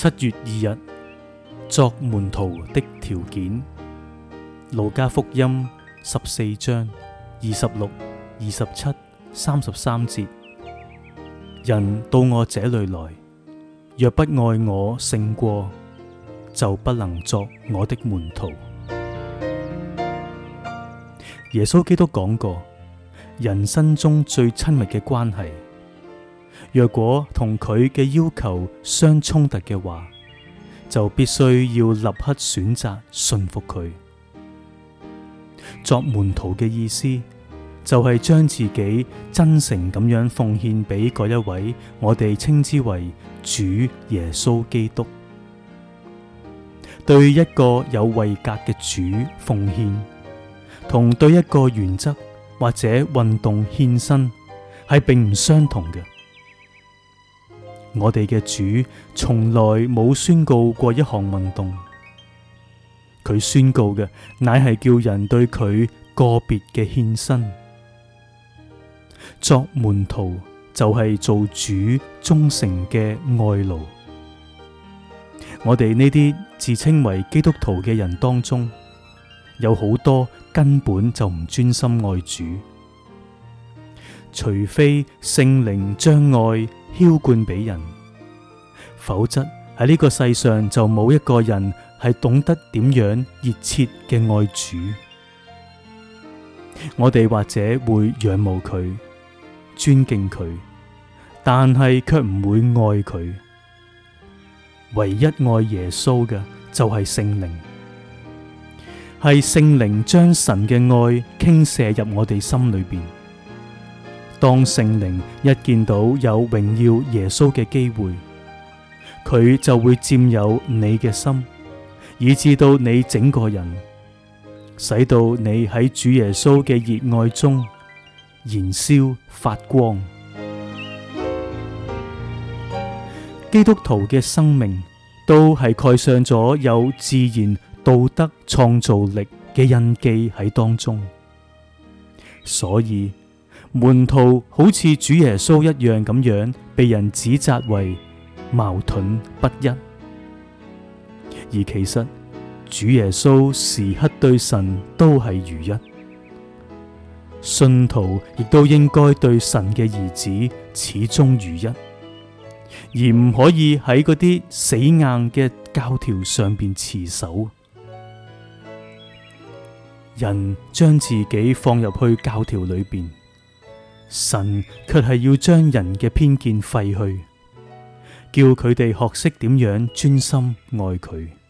7月2日，作門徒的條件。路加福音14章26、27、33節：人到我這裏來，若不愛我勝過，就不能作我的門徒。耶穌基督講過，人生中最親密嘅關係，若果同佢嘅要求相衝突嘅話，就必須要立刻選擇順服佢。作門徒嘅意思，就係將自己真誠咁樣奉獻俾嗰一位我哋稱之為主耶穌基督。對一個有位格嘅主奉獻，同對一個原則或者運動獻身係並唔相同嘅。我哋嘅主從來冇宣告過一項運動，佢宣告嘅乃係叫人對佢個別嘅獻身。作門徒就係做主忠誠嘅愛奴。我哋呢啲自稱為基督徒嘅人當中，有好多根本就唔專心愛主，除非聖靈將愛澆灌俾人，否則喺呢個世上就冇一個人係懂得點樣熱切嘅愛主。我哋或者會仰慕佢、尊敬佢，但係卻唔會愛佢。唯一愛耶穌嘅就係聖靈，係聖靈將神嘅愛傾瀉入我哋心裏邊。當聖靈一見到有榮耀耶穌嘅機會，佢就會佔有你嘅心，以致到你整個人，使到你喺主耶穌嘅熱愛中燃燒發光。基督徒嘅生命都係蓋上咗有自然道德創造力嘅印記喺當中，所以門徒好似主耶穌一樣咁樣被人指責為矛盾不一，而其實主耶穌時刻對神都係如一。信徒亦都應該對神嘅兒子始終如一，而唔可以喺嗰啲死硬嘅教條上邊持守。人將自己放入去教條裏邊，神卻係要將人嘅偏見廢去，叫佢哋學識點樣專心愛佢。